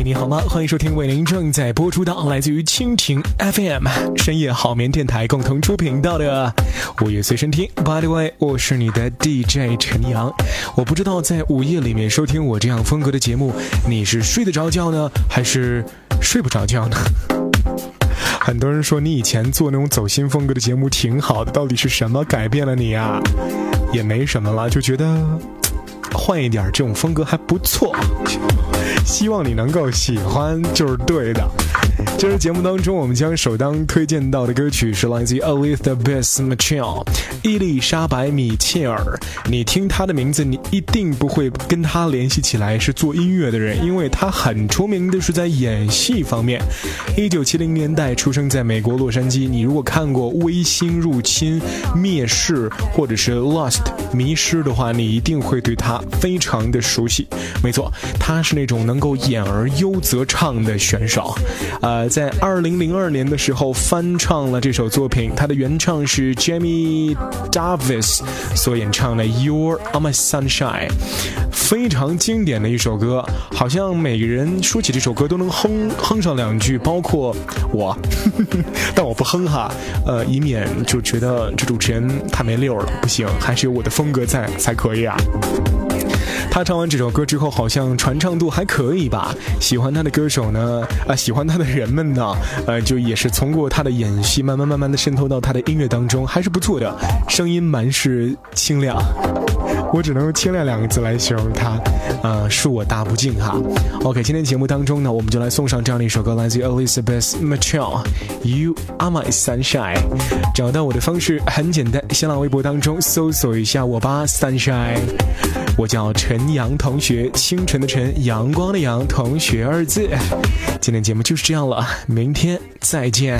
喂，你好吗？欢迎收听为您正在播出的来自于蜻蜓 FM 深夜好眠电台共同出品到的午夜随身听。 By the way， 我是你的 DJ 陈阳。我不知道在午夜里面收听我这样风格的节目，你是睡得着觉呢，还是睡不着觉呢？很多人说你以前做那种走心风格的节目挺好的，到底是什么改变了你啊？也没什么了，就觉得换一点这种风格还不错，希望你能够喜欢就是对的。这次节目当中，我们将首当推荐到的歌曲是来自于 Elizabeth Mitchell 伊丽莎白·米切尔。你听她的名字，你一定不会跟她联系起来是做音乐的人，因为她很出名的是在演戏方面。1970年代出生在美国洛杉矶，你如果看过《微星入侵》、《灭世》或者是《Lost》迷失的话，你一定会对她非常的熟悉。没错，她是那种能够演而优则唱的选手。在2002年的时候翻唱了这首作品，它的原唱是 Jamie Davis 所演唱的 You're My Sunshine， 非常经典的一首歌，好像每个人说起这首歌都能哼上两句，包括我但我不哼哈，以免就觉得这主持人太没溜了，不行，还是有我的风格在才可以啊。他唱完这首歌之后，好像传唱度还可以吧。喜欢他的歌手呢，喜欢他的人们呢，就也是通过他的演戏，慢慢的渗透到他的音乐当中，还是不错的。声音蛮是清亮，我只能用清亮两个字来形容他，恕我大不敬哈。OK， 今天节目当中呢，我们就来送上这样的一首歌，来自于 Elizabeth Mitchell You Are My Sunshine。 找到我的方式很简单，新浪微博当中搜索一下我吧 Sunshine， 我叫陈阳同学，清晨的晨，阳光的阳，同学二字。今天节目就是这样了，明天再见。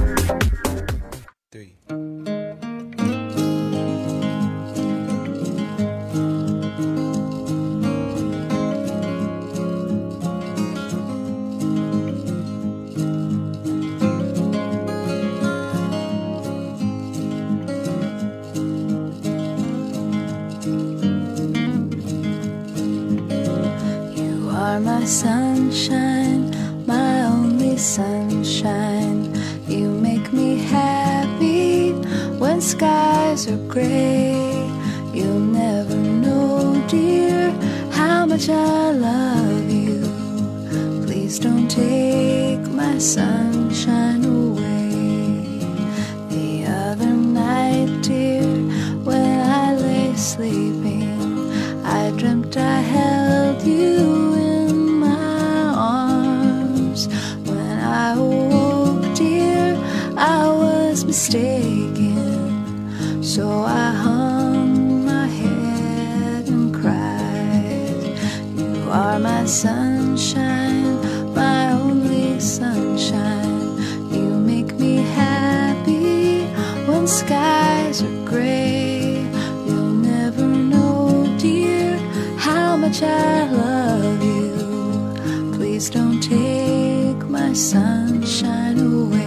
My sunshine, my only sunshine. You make me happy when skies are gray. You'll never know, dear, how much I love you. Please don't take my sunshine away. The other night, dear, when I lay sleeping, I dreamt I held you mistaken, so I hung my head and cried. You are my sunshine, my only sunshine. You make me happy when skies are gray. You'll never know, dear, how much I love you. Please don't take my sunshine away.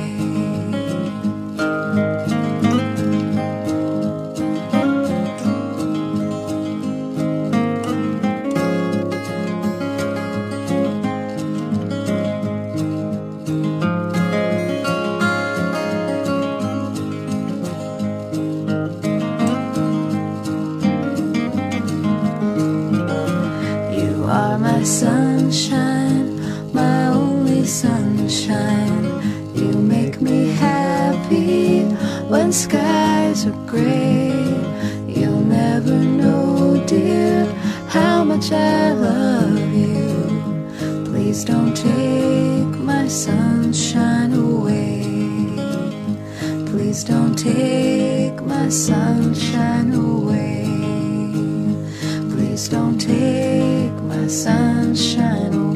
My sunshine, my only sunshine. You make me happy when skies are gray. You'll never know, dear, how much I love you. Please don't take my sunshine away. Please don't take my sunshine away. Please don't take my sunshine away.